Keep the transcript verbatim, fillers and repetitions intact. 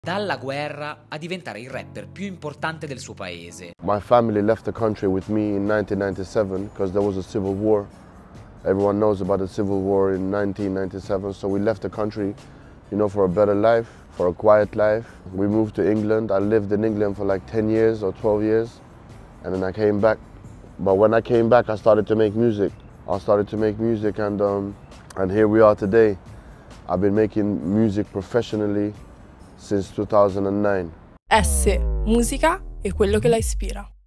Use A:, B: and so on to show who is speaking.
A: Dalla guerra a diventare il rapper più importante del suo paese.
B: My family left the country with me in nineteen ninety-seven because there was a civil war. Everyone knows about the civil war in nineteen ninety-seven, so we left the country, you know, for a better life, for a quiet life. We moved to England. I lived in England for like ten years or twelve years, and then I came back. But when I came back, I started to make music. I started to make music, and um, and here we are today. I've been making music professionally since two thousand nine.
C: S, musica e quello che la ispira.